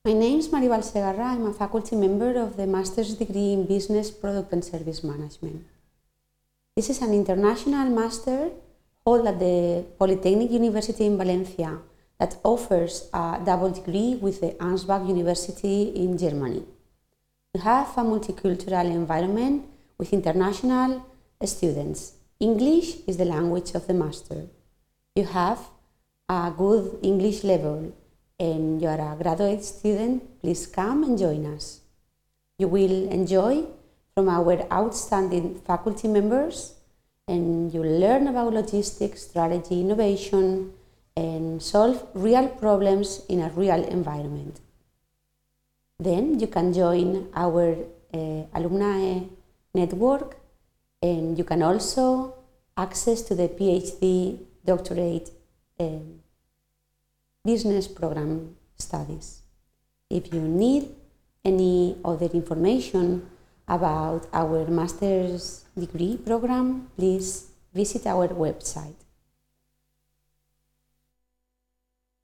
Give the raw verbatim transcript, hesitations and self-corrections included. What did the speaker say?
My name is Maribal Segarra. I'm a faculty member of the Master's degree in Business, Product and Service Management. This is an international master held at the Polytechnic University in Valencia that offers a double degree with the Ansbach University in Germany. We have a multicultural environment with international students. English is the language of the master. You have a good English level and you are a graduate student, please come and join us. You will enjoy from our outstanding faculty members and you'll learn about logistics, strategy, innovation, and solve real problems in a real environment. Then you can join our uh, alumni network and you can also access to the PhD doctorate uh, business program studies. If you need any other information about our master's degree program, please visit our website.